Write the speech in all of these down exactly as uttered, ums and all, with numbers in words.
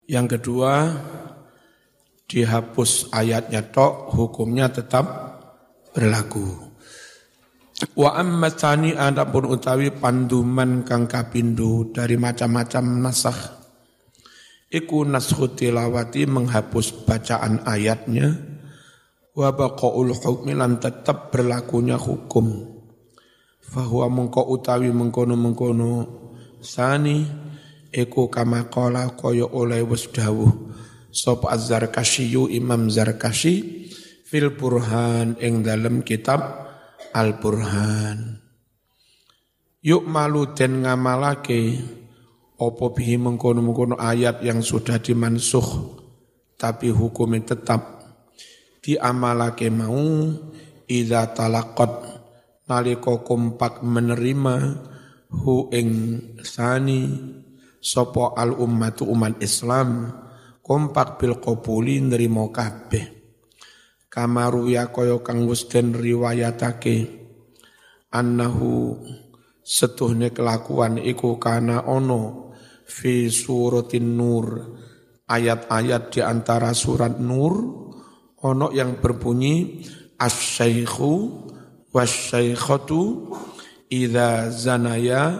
Yang kedua, dihapus ayatnya tok, hukumnya tetap berlaku. Wa amma tsani adapun utawi panduman kang kapindho dari macam-macam nasakh iku naskhu tilawati menghapus bacaan ayatnya wa baqaul hukmi lan tetap berlakunya hukum fahuwa mengko utawi mengkono-mengkono sani iku kama qala kaya oleh wis dawuh sapa Az-Zarkasyyu Imam Zarkasy fil Burhan ing dalem kitab Al-Burhan. Yuk malu den ngamalake opo bihi mengkono-mengkono ayat yang sudah dimansuh tapi hukumnya tetap diamalake mau idza talaqat nalika kompak menerima hu ing sani sapa al ummatu umat Islam kompak bil qabuli nrimo kabeh. Kamaru ya kaya kang wis den riwayatake annahu setuhne kelakuan iku kana ono fi suratin nur ayat-ayat di antara surat Nur ono yang berbunyi asy-syaikhu wasy-syaikhatu idza zanaya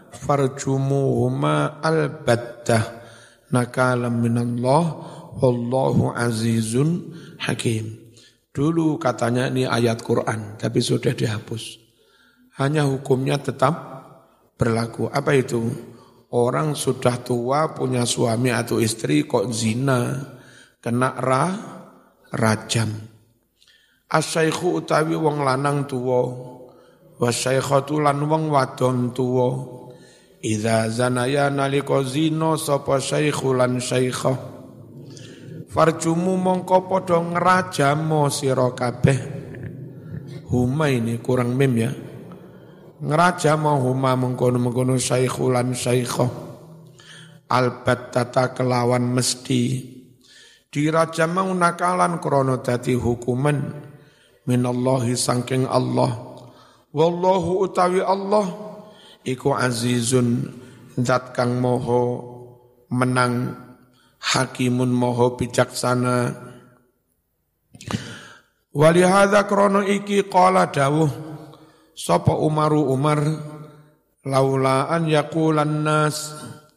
farjumuhuma albattah nakalam minallah wallahu azizun hakim. Dulu katanya ini ayat Quran, tapi sudah dihapus. Hanya hukumnya tetap berlaku. Apa itu? Orang sudah tua, punya suami atau istri, kok zina, kena ra, rajam. As-syaikhu utawi wong lanang tuwa, was-syaikhatu lan wong wadon tuwa. Idza zanaya nalika zina sapa syaikhu lan syaikhah. Farjumu mongko padha ngrajamo sira kabeh. Huma ini kurang mim ya. Ngrajamo huma mengkono-mengkono syaikhulan syaikhah. Albattata kelawan mesti. Dirajam nakalan krana dadi hukuman minallahi saking Allah. Wallahu utawi Allah iku azizun zat kang maha menang hakimun moho bijaksana. Walihada krono iki qala dawuh sapa Umaru Umar laula an yaqulan nas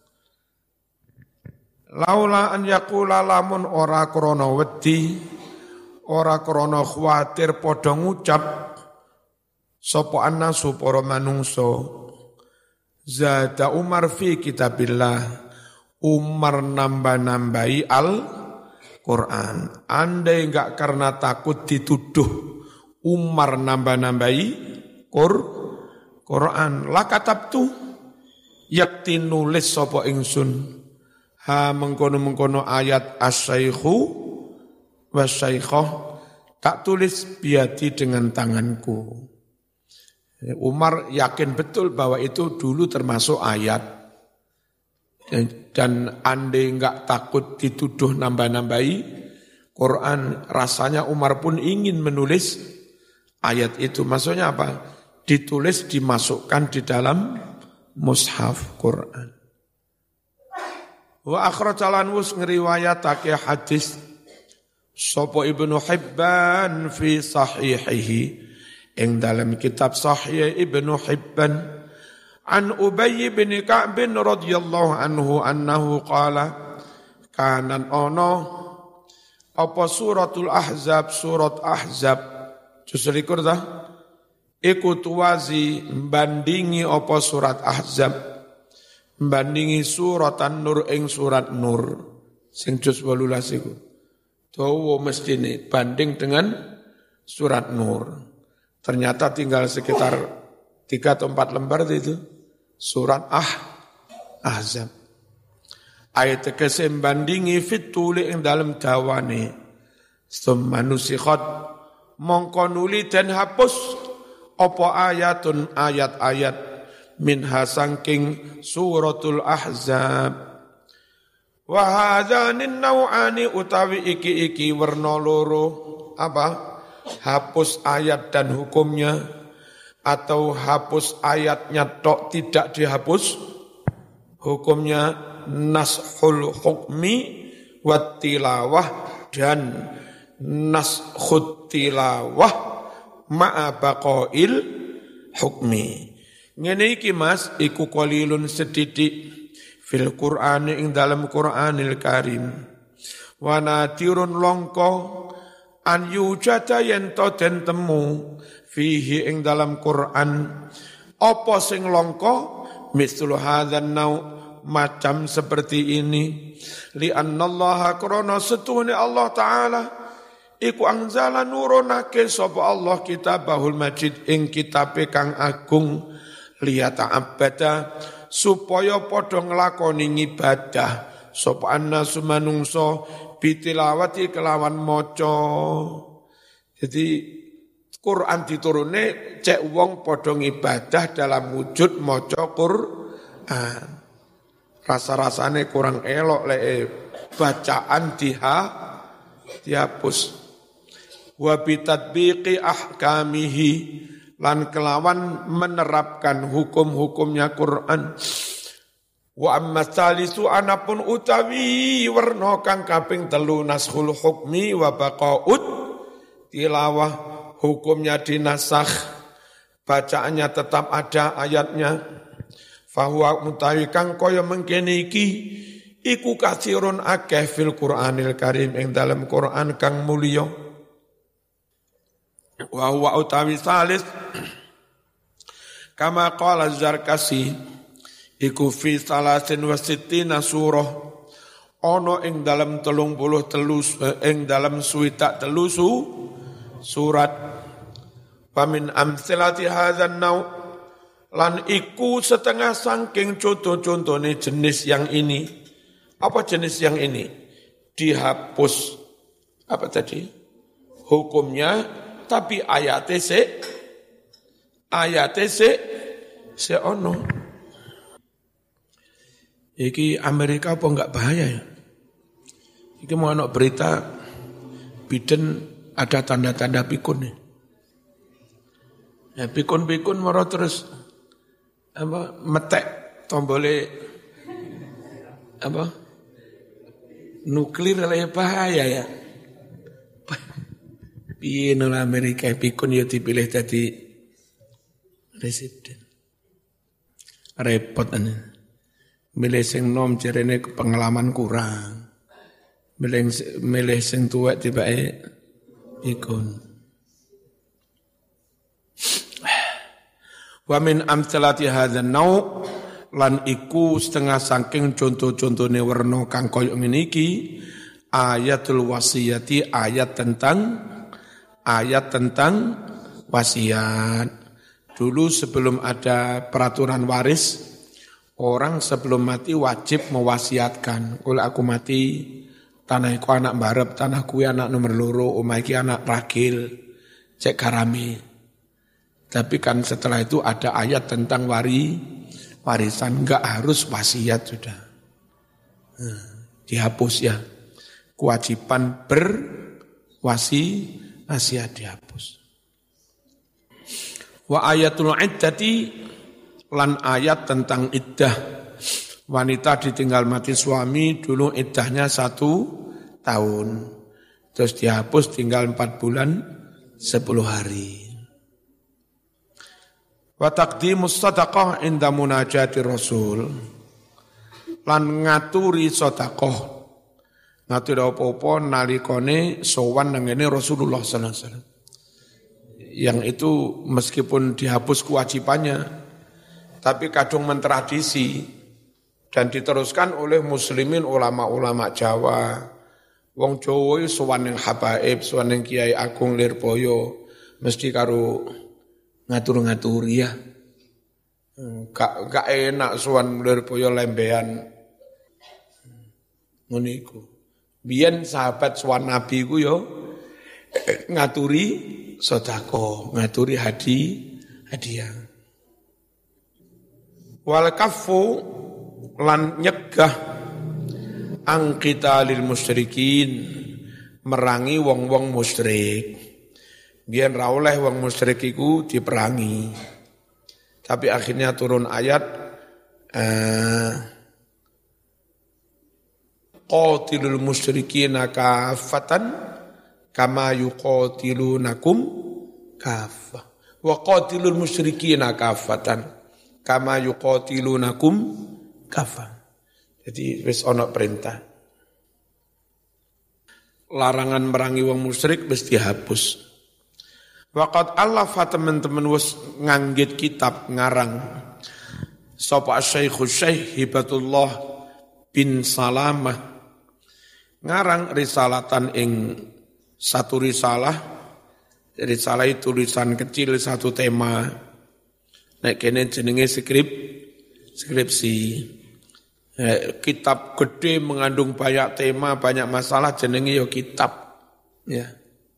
laula an yaqula lamun ora krono wedi ora krono khawatir padha ngucap sapa annasu para manungsa zada Umar fi kitabillah Umar nambah-nambahi Al-Quran. Andai enggak karena takut dituduh Umar nambah-nambahi Quran. Lakatabtu yakti nulis sapa ingsun. Ha mengkono-mengkono ayat as-syaikhu was-syaikhah tak tulis biadi dengan tanganku. Umar yakin betul bahwa itu dulu termasuk ayat. Dan andai enggak takut dituduh nambah-nambahi Quran, rasanya Umar pun ingin menulis ayat itu. Maksudnya apa? Ditulis, dimasukkan di dalam mushaf Quran. Wa akhrajalan wus ngriwayatake hadis sapa Ibnu Hibban fi sahihihi ing dalam kitab Sahih Ibnu Hibban an Ubay bin Ka'b radhiyallahu anhu annahu qala kanan ono apa suratul Ahzab surat Ahzab juz likur dah iku tuwazi bandingi apa surat Ahzab bandingi surat An-Nur ing surat Nur sing juz wolulas iku dawa mestine banding dengan surat Nur ternyata tinggal sekitar tiga atau empat lembar itu surat Ah Ahzab. Ayat kesem bandingi fituli ing dalam dawane. Summa nusikhat mongko nuli dan hapus apa ayatun ayat-ayat minha sangking suratul Ahzab. Wa hadzanin nau'ani utawi iki-iki werna loro apa? Hapus ayat dan hukumnya atau hapus ayatnya tok tidak dihapus hukumnya nashul hukmi wat tilawah dan naskhut tilawah ma'a baqail hukmi. Ngene iki Mas iku qalilun sedidik fil Qur'ani ing dalam Qur'anil Karim. Wa nadirun longko an yujada yen to den temu fihi ing dalam Qur'an apa sing longko mislu hadzal nau macam seperti ini li annallaha krana setune Allah taala iku anzala nurunake sapa Allah kitabahul majid ing kitabe kang agung liyata'abbada supaya padha nglakoni ibadah sapa annasu manungsa bitilawati kelawan maca. Jadi Quran diturune cek wong padha ngibadah dalam wujud maca Quran. Rasa-rasane kurang elok lek bacaan diha dihapus. Wa bitatbiqi ahkamihi lan kelawan menerapkan hukum-hukumnya Quran. Wa amma salisu anapun utawi werna kang kaping telu naskhul hukmi wa baqaut tilawah hukumnya dinasakh bacaannya tetap ada ayatnya fahuwa mutawi kang kaya mengkene iki iku katsirun akeh fil Qur'anil Karim ing dalam Quran kang mulya wa huwa utawi salis kama qala Zarkasi iku fi salasin wa sittina surah ana ing dalam telung puluh telu ing dalam suwidak telu su surat pamin amsilati hadzal nau lan iku setengah saking contoh-contohne jenis yang ini. Apa jenis yang ini? Dihapus apa tadi? Hukumnya tapi ayate se ayate se se ono. Iki Amerika apa enggak bahaya ya? Iki mau ana berita Biden ada tanda-tanda pikun nih. Ya pikun-pikun moro terus apa metek tombole apa nuklir lah bahaya ya. Piye nang Amerika pikun ya dipilih jadi presiden. Repot ane. Milih sing nom jarene pengalaman kurang. Milih milih sing tuwek tibake ikun. Wa min amsalati hadzal nau lan iku setengah saking contoh-contohne werna kang kaya ngene iki ayatul wasiyati ayat tentang ayat tentang wasiat. Dulu sebelum ada peraturan waris orang sebelum mati wajib mewasiatkan. Kalau aku mati, tanahku anak barep, tanahku anak nomor loro, omah iki anak ragil, cek karami. Tapi kan setelah itu ada ayat tentang wari, warisan, enggak harus wasiat sudah. Nah, dihapus ya. Kewajiban berwasi, wasiat dihapus. Wa ayatul iddati lan ayat tentang iddah. Wanita ditinggal mati suami dulu iddahnya satu tahun. Terus dihapus tinggal empat bulan sepuluh hari. Wa taqdimus sadaqah inda munajati Rasul. Lan ngaturi sedekah. Ngaturi apa-apa nalikane sowan nang ngene Rasulullah sallallahu alaihi wasallam. Yang itu meskipun dihapus kewajibannya, tapi kadung mentradisi dan diteruskan oleh muslimin ulama-ulama Jawa. Wong Jawa sowan ning habaib, sowan ning Kiai Agung Lirboyo mesti karo ngatur-ngaturi ya. Gak gak enak sowan Lirboyo lembean. Ngono iku. Biyen sahabat sowan Nabi ku yo ngaturi sedekah, ngaturi hadi hadiah. Wal kafu lan nyegah angkita lil musyrikin merangi wong-wong musyrik. Biyen ra oleh wong musyrik iku diperangi. Tapi akhirnya turun ayat eh, qatilul musyrikina kafatan kama yuqatilunakum kafah. Wa qatilul musyrikina kafatan kama yuqatilunakum kafah. Jadi wis ana perintah. Larangan merangi wong musyrik wis dihapus. Waqad allafa teman-teman wis nganggit kitab ngarang sapa Syekh Syekh Hibatullah bin Salamah ngarang risalatan ing satu risalah. Risalah itu tulisan kecil satu tema. Nek kene jenenge skrip skripsi. Eh, kitab gede mengandung banyak tema, banyak masalah jenenge yo kitab. Ya.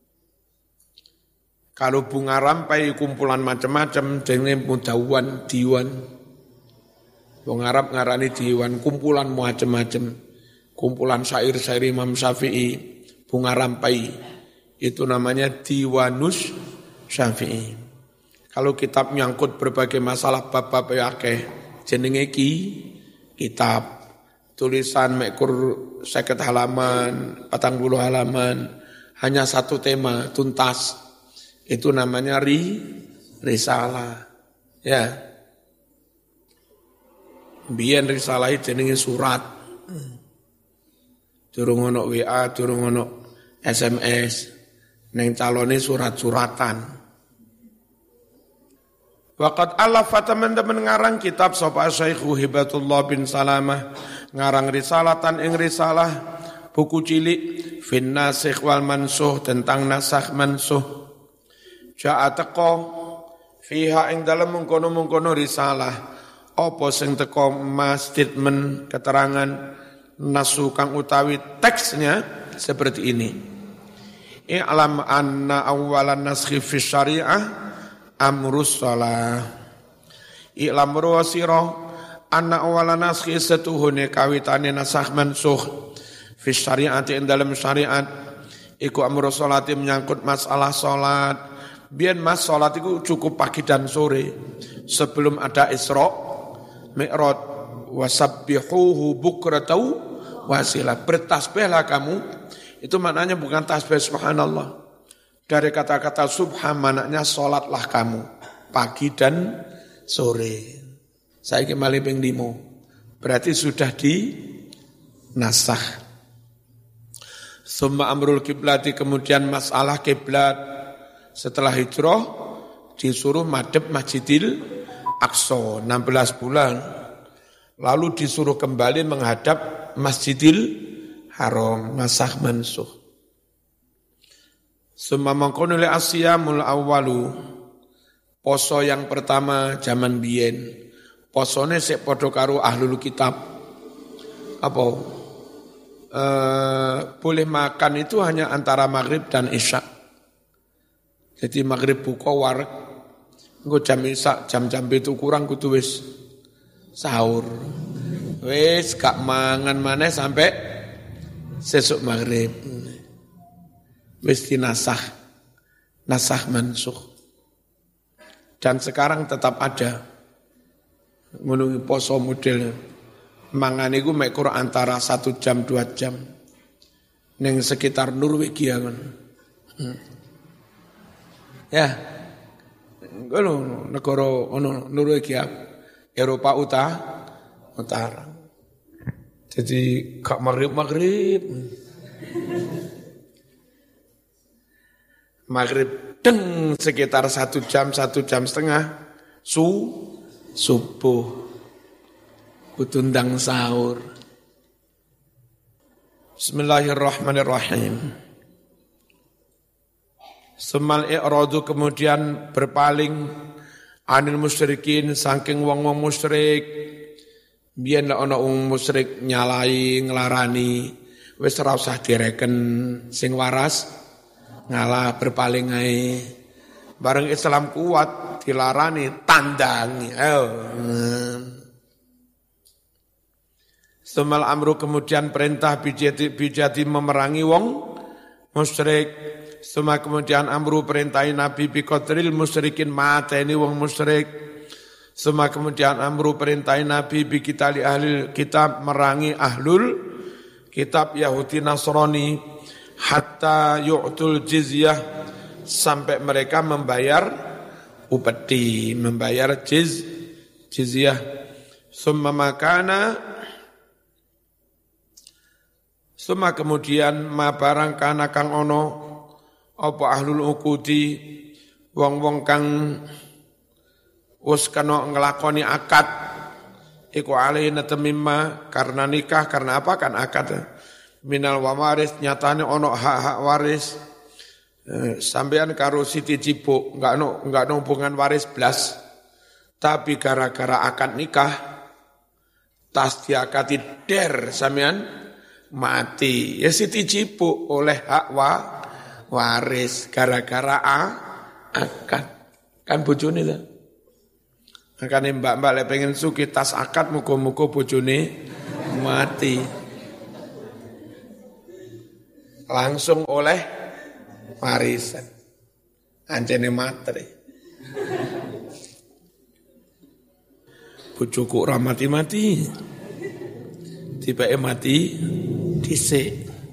Kalau bunga rampai kumpulan macam-macam jenenge mudawwan, diwan. Wong Arab ngarani diwan, kumpulan macam-macam. Kumpulan syair-syair Imam Syafi'i, bunga rampai. Itu namanya Diwanus Syafi'i. Kalau kitab nyangkut berbagai masalah bab-bab akeh jenenge ki kitab. Tulisan mekur seket halaman, patang puluh halaman, hanya satu tema tuntas. Itu namanya ri risalah. Ya. Biyen risalah jenenge surat. Durung ono W A, durung ono S M S. Neng calone surat-suratan. Waqad alafa teman-teman ngarang kitab sapa Syekh Hibatullah bin Salamah ngarang risalatan ing risalah buku cilik fin nasikh wal mansuh tentang nasakh mansuh. Ja'a teko fiha ing dalem mengkono-mengkono risalah apa sing teko mas statement keterangan nasu kang utawi teksnya seperti ini. I'lam anna awwalan naskhi fi syariah amrus shalah. I'lam ruwasira anna awwalan naskhi setuhune kawitane nasakh mansukh fi syariah ing dalam syariat iku amrus sholati menyangkut masalah salat. Biyen mas salat iku cukup pagi dan sore sebelum ada Isra Mi'raj wasabbihuhu bukratan wasilah. Bertasbihlah kamu. Itu maknanya bukan tasbih subhanallah. Dari kata-kata subhan maknanya sholatlah kamu. Pagi dan sore. Saya kembali ping limo. Berarti sudah di nasakh. Summa amrul kiblati kemudian masalah kiblat. Setelah hijrah disuruh madhep Masjidil Aqsa enam belas bulan. Lalu disuruh kembali menghadap Masjidil Haram, nasakh mansukh. Summa mangkono li asyamul awwalu. Poso yang pertama zaman biyen. Posone sik padha karo ahlul kitab. Apa? E, boleh makan itu hanya antara maghrib dan isya. Jadi maghrib buka wareg. Engko jam isya, jam-jam itu kurang kudu wis sahur. Wis gak mangan maneh sampai sesuk maghrib. Wis dinasakh, nasakh mansukh. Dan sekarang tetap ada. Menunggu poso model mangan iku mek kurang antara satu jam dua jam. Ning sekitar Norwegia kan. Hmm. Ya. Ngono negara ono Norwegia, Eropa Utara, Utara. Jadi gak maghrib-maghrib. Maghrib deng sekitar satu jam, satu jam setengah. Su, subuh. Kutundang sahur. Bismillahirrahmanirrahim. Semal i'radu kemudian berpaling anil musyrikin saking wong-wong musyrik. Biyen lek ana wong musyrik nyalai nglarani wis ora usah direken sing waras ngalah berpaling ae. Bareng Islam kuat dilarani tandangi. Ayo. Semal amru kemudian perintah bijati bijati memerangi wong musyrik. Suma kemudian amru perintahi Nabi biqatril musyrikin mateni wong musyrik. Suma kemudian amru perintahi Nabi bikitali ahli kitab merangi ahlul kitab Yahudi Nasrani hatta yu'tul jizyah sampai mereka membayar upeti, membayar jiz jizyah. Summa makana summa kemudian ma barang kana kang ono apa ahlul ukudi wong-wong kang wis kena nglakoni akad iku alaina tamimma karena nikah karena apa kan akad minal waris nyatane ono hak-hak waris eh, sampean karo Siti Cibuk enggak ono enggak ono hubungan waris blas tapi gara-gara akad nikah tas diakati der sampean mati ya Siti Cibuk oleh hak wa, waris gara-gara a, akad kan bojone ta. Makanya mbak-mbak le pengen suki tas akad muka-muka bojone mati. Langsung oleh warisan. Anjene materi. Bojoku ora mati-mati. Tibake mati dhisik.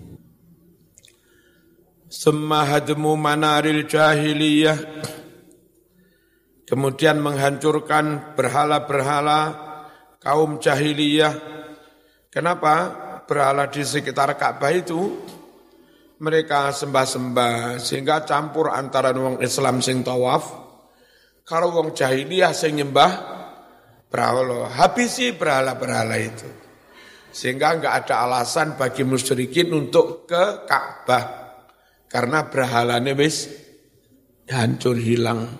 Summa hadmu manaril jahiliyah. Kemudian menghancurkan berhala-berhala kaum jahiliyah. Kenapa? Berhala di sekitar Ka'bah itu mereka sembah-sembah sehingga campur antara wong Islam sing tawaf karo wong jahiliyah sing nyembah berhala. Habisi berhala-berhala itu. Sehingga enggak ada alasan bagi musyrikin untuk ke Ka'bah karena berhalanya wis hancur hilang.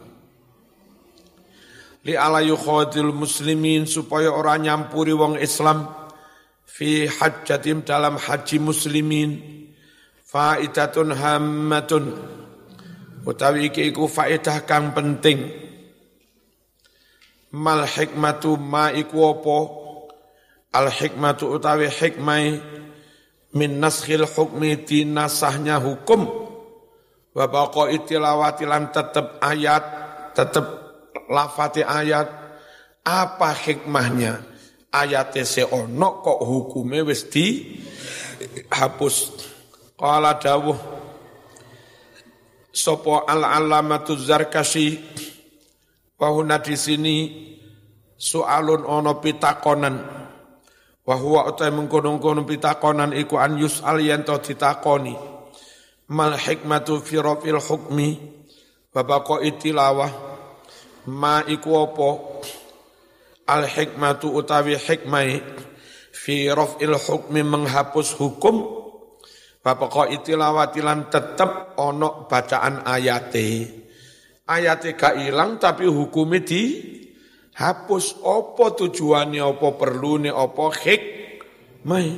Li ala yukhadil muslimin supaya orang nyampuri wong Islam fi hajjatim dalam haji muslimin faidatun hammatun utawi iki iku faedah kang penting mal hikmatu ma iku apa al hikmatu utawi hikmai min naskhil hukmi dinasahnya hukum wa baqai tilawati lan tetep ayat tetep lafati ayat apa hikmahnya ayate seono kok hukume wis dihapus qala dawuh sapa al-allamatu Zarkashi wahuna di sini soalun ono pitakonan wa huwa utai mengkono-kono pitakonan iku an yus'al yen to ditakoni mal hikmatu fi rafil hukmi wa baqai tilawah ma iku apa al hikmatu utawi hikmai fi raf'il hukmi menghapus hukum bapak itilawati lan tetep ono bacaan ayate ayate gak ilang tapi hukumnya dihapus apa tujuannya apa perlune apa hikmai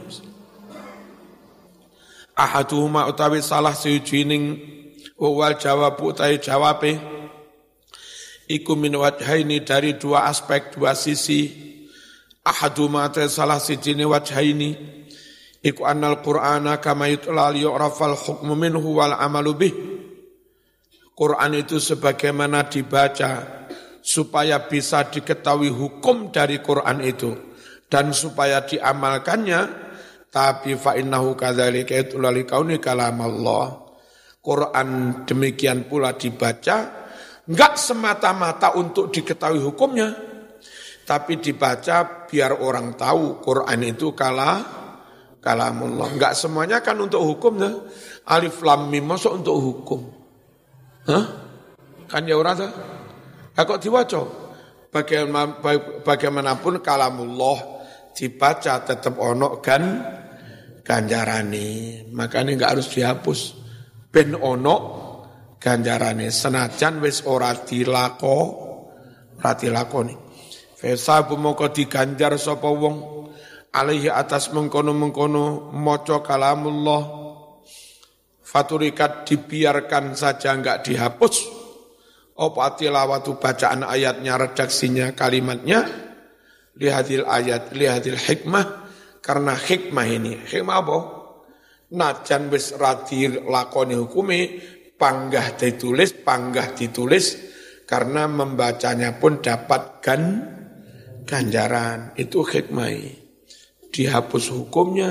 ahaduhuma utawi salah sijining wal jawab utawi jawabe iku min wajhaini dari dua aspek, dua sisi. Ahaduma ta salah sijine wajhaini iku annal Qur'ana kama yutla yu'rafal hukmu minhu wal amalu bih. Quran itu sebagaimana dibaca supaya bisa diketahui hukum dari Quran itu dan supaya diamalkannya tapi fa innahu kadzalika yutla likauni kalam Allah. Quran demikian pula dibaca enggak semata-mata untuk diketahui hukumnya, tapi dibaca biar orang tahu Quran itu kala kalamullah. Enggak semuanya kan untuk hukumnya. Alif lam mim masuk untuk hukum. Hah? Kan ya ora ta? Ha kok diwaca? Bagaimanapun kalamullah dibaca tetap ono kan ganjarane. Makanya enggak harus dihapus. Ben ono ganjarane senajan wis ora dilako ora dilakoni fa moko diganjar sapa wong alaihi atas mengkono-mengkono maca kalamullah faturikat dibiarkan saja enggak dihapus apa tilawatu bacaan ayatnya redaksinya kalimatnya lihadil ayat lihadil hikmah karena hikmah ini hikmah apa najan wis ra dilakoni hukume panggah ditulis, panggah ditulis, karena membacanya pun dapat gan, ganjaran. Itu hikmah. Dihapus hukumnya,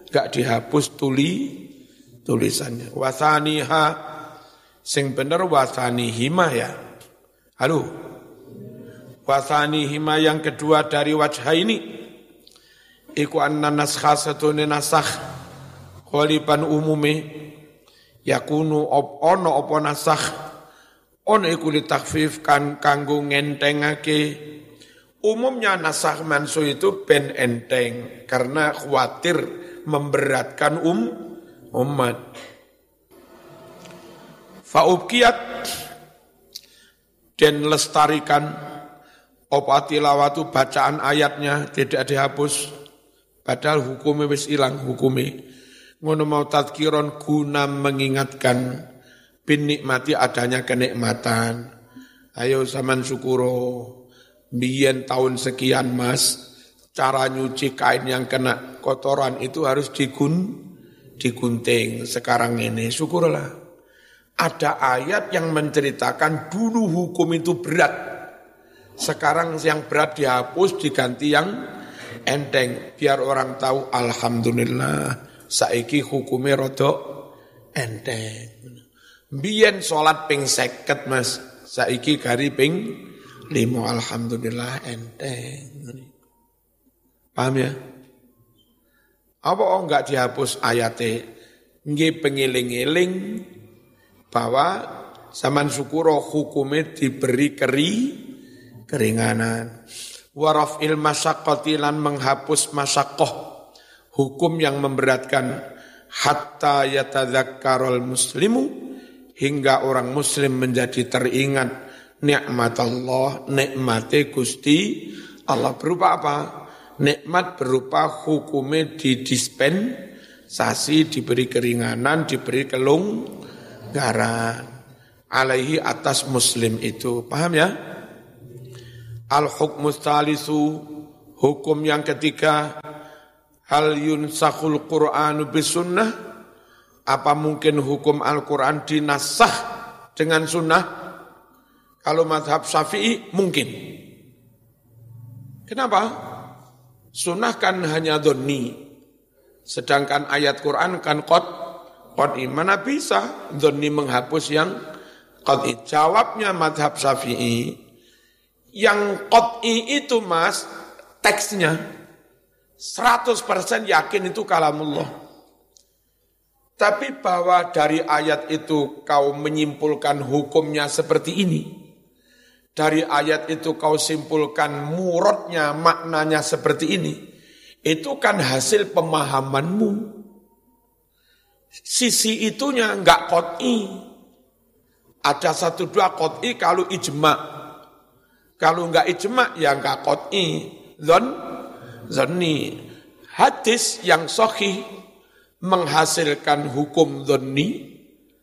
gak dihapus tuli tulisannya. Wasaniha sing bener wasanihima ya. Halo. Wasanihima yang kedua dari wajah ini iku anna naskha satune nasakh khaliban umume yakunu op ono apa nasakh ono iku litakfif kan kanggo ngentengake. Umumnya nasakh mansuh itu ben enteng karena khawatir memberatkan um umat. Faubkiyat dan lestarikan opa tilawatu bacaan ayatnya tidak dihapus padahal hukumnya wis ilang hukumnya. Ngono mau tadkiron guna mengingatkan bin nikmati adanya kenikmatan. Ayo zaman syukuro. Biyen tahun sekian mas, cara nyuci kain yang kena kotoran itu harus digun, digunting. Sekarang ini syukurlah. Ada ayat yang menceritakan dulu hukum itu berat. Sekarang yang berat dihapus diganti yang enteng. Biar orang tahu alhamdulillah saiki hukumnya rodok enteng. Biyen sholat ping seket mas, saiki gari ping limo alhamdulillah enteng. Paham ya? Apa oh enggak dihapus ayatnya? Nggih pengiling-iling bahwa zaman syukuro hukumnya diberi keri keringanan. Warafil masyaqqati lan menghapus masyaqqah hukum yang memberatkan hatta yatadzakkarul muslimu hingga orang muslim menjadi teringat nikmat Allah, nikmate Gusti Allah berupa apa? Nikmat berupa hukumnya didispensasi, diberi keringanan, diberi kelonggaran. Alaihi atas muslim itu. Paham ya? Al-hukmu tsalisu, hukum yang ketiga, hal yunsakhul Qur'anu bisunnah, apa mungkin hukum Al-Qur'an dinasakh dengan sunnah? Kalau mazhab Syafi'i mungkin. Kenapa? Sunnah kan hanya dhonni. Sedangkan ayat Quran kan qad qad'i. Mana bisa dhonni menghapus yang qad'i? Jawabnya mazhab Syafi'i, yang qad'i itu mas, teksnya seratus persen yakin itu kalamullah. Tapi bahwa dari ayat itu kau menyimpulkan hukumnya seperti ini. Dari ayat itu kau simpulkan muradnya, maknanya seperti ini. Itu kan hasil pemahamanmu. Sisi itunya enggak qot'i. Ada satu dua qot'i kalau ijma'. Kalau enggak ijma' ya enggak qot'i. Zon, zonni. Hadis yang sahih menghasilkan hukum dhonni.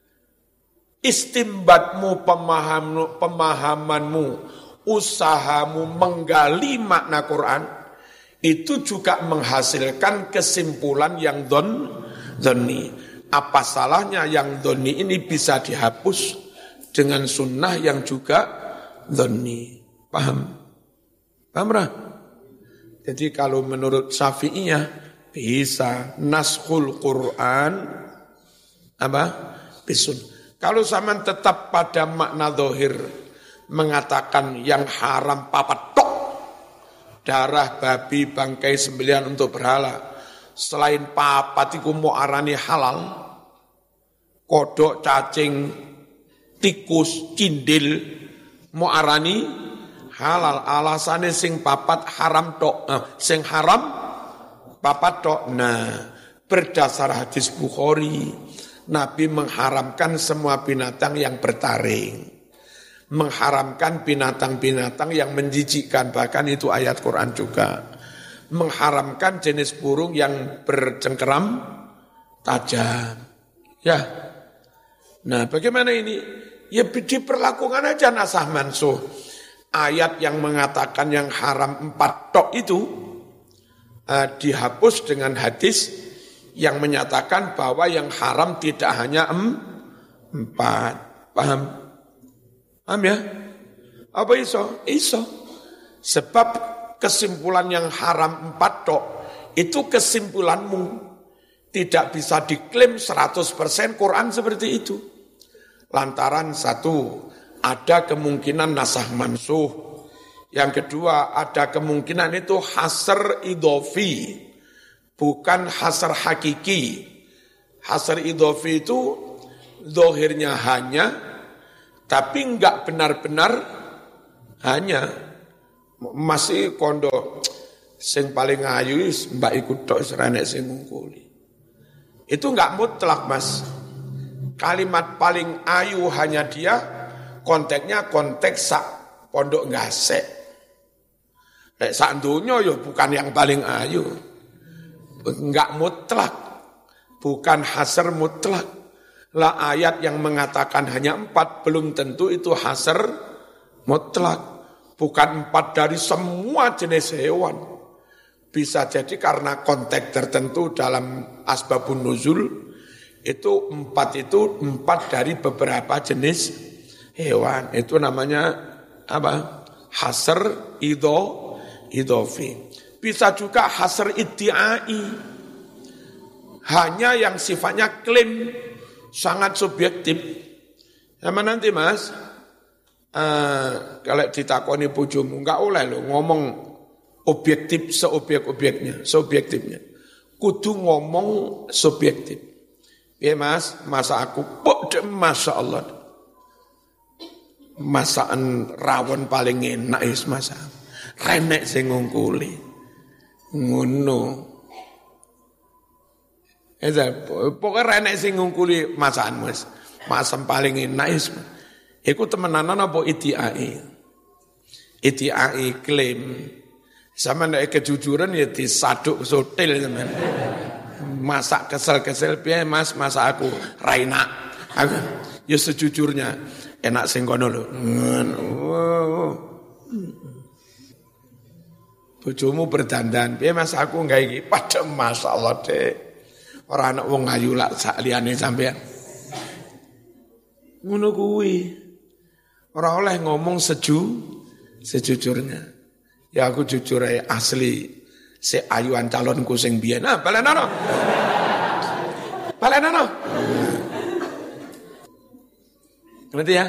Istimbatmu, pemahamanmu, pemahamanmu, usahamu menggali makna Quran, itu juga menghasilkan kesimpulan yang dhon, dhonni. Apa salahnya yang dhonni ini bisa dihapus dengan sunnah yang juga dhonni? Paham? Paham lah? Jadi kalau menurut Syafi'iyah, bisa naskhul Quran apa? Bisun. Kalau zaman tetap pada makna zahir mengatakan yang haram papat tok, darah babi bangkai sembelihan untuk berhala, selain papat iku mau arani halal, kodok, cacing, tikus, cindil mau arani halal. Alasannya sing papat haram tok, nah, sing haram papat tok. Nah, berdasar hadis Bukhari, Nabi mengharamkan semua binatang yang bertaring, mengharamkan binatang-binatang yang menjijikkan, bahkan itu ayat Quran juga, mengharamkan jenis burung yang bercengkeram tajam. Ya, nah bagaimana ini? Ya diperlakukan aja nasah mansuh. Ayat yang mengatakan yang haram empat tok itu uh, dihapus dengan hadis yang menyatakan bahwa yang haram tidak hanya em, empat. Paham? Paham ya? Apa iso? Iso. Sebab kesimpulan yang haram empat tok, itu kesimpulanmu. tidak bisa diklaim seratus persen Quran seperti itu. Lantaran satu, ada kemungkinan nasah mansuh. Yang kedua, ada kemungkinan itu hasr idhofi, bukan hasr hakiki. Hasr idhofi itu zahirnya hanya, tapi enggak benar-benar hanya. Masih kondo sing paling ayu mbak ikut tok serenek sing ngungkuli. Itu enggak mutlak, Mas. Kalimat paling ayu hanya dia, konteksnya konteks sak pondok ngasek. Nek sak donya ya bukan yang paling ayu. Enggak mutlak. Bukan hasr mutlak. Lah ayat yang mengatakan hanya empat belum tentu itu hasr mutlak. Bukan empat dari semua jenis hewan. Bisa jadi karena konteks tertentu dalam asbabun nuzul, itu empat itu empat dari beberapa jenis hewan. Itu namanya apa? Hasr idho, idhofi. Bisa juga hasr iddi'ai. Hanya yang sifatnya klaim, sangat subjektif. Sama nanti Mas, Uh, kalau ditakoni bojomu enggak oleh lo ngomong objektif seobjek-objeknya, subjektifnya. Kudu ngomong subjektif. Ya Mas, masa aku pok masya Allah. Masakan rawon paling enak is masa. Renek sing ngungkuli. Ngono. Eza pokoke renek sing ngungkuli masakan Mas. Masam paling enak is. Iku temenanan apa iddi'ai? Iddi'ai klaim. Sama nek kejujuran ya disaduk sotil teman. Masak kesel-kesel piye Mas, masak aku raina. Aku ya sejujurnya enak sing kono lho. Bojomu berdandan, piye Mas aku gawe iki? Padha masyaallah Dek. Ora ana wong ayu lak sak liyane sampean. Ngono kuwi. Ora oleh ngomong seju, sejujurnya. Ya aku jujur aja asli si ayuan calonku sing biyen. Nah, balenono. Balenono. Ngerti ya?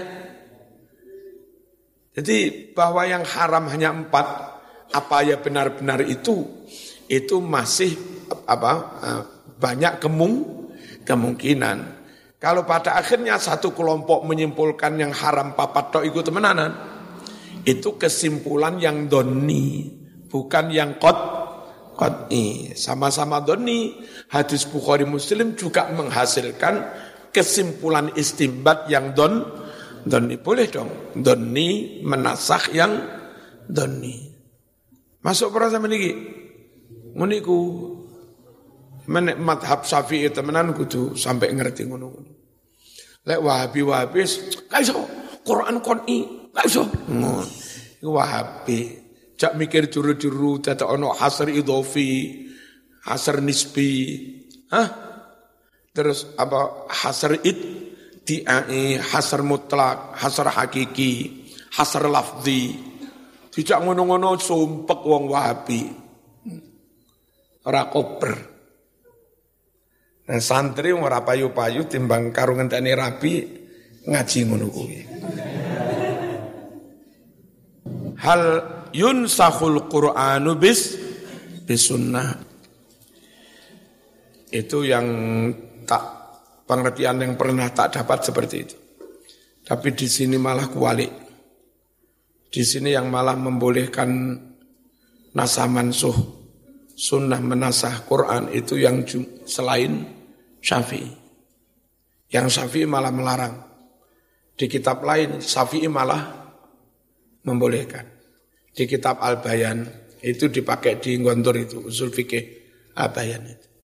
Jadi bahwa yang haram hanya empat, apa ya benar-benar itu, itu masih apa banyak kemung, kemungkinan. Kalau pada akhirnya satu kelompok menyimpulkan yang haram papat tok ikut temenanan, itu kesimpulan yang doni, bukan yang qat qat'i. Sama-sama doni, hadis Bukhari Muslim juga menghasilkan kesimpulan istimbat yang don doni. Boleh dong, doni menasakh yang doni. Masuk perasa meniki, muniku. Menek madhab Syafi'i temenan kudu sampai ngerti ngono-ngono. Lek Wahabi-Wahabi gak iso Quran qoni, gak iso. Ngono. Wahabi jak mikir juru-juru dadak ono hasr idhofi, hasr nisbi. Hah? Terus apa hasr id di'ai, hasr mutlak, hasr hakiki, hasr lafzi. Dijak ngono-ngono sumpek wong Wahabi. Ora koper. Nah, santri ora payu-payu timbang karo ngenteni rabi ngaji ngono kuwi. Hal yunsakhul Qur'anu bis bisunnah. Itu yang tak pengertian yang pernah tak dapat seperti itu. Tapi di sini malah kualik. Di sini yang malah membolehkan nasah mansuh, sunnah menasah Quran itu yang selain Syafi'i. Yang Syafi'i malah melarang. Di kitab lain Syafi'i malah membolehkan. Di kitab Al-Bayan itu dipakai di Gontor itu usul fikih Al-Bayan itu.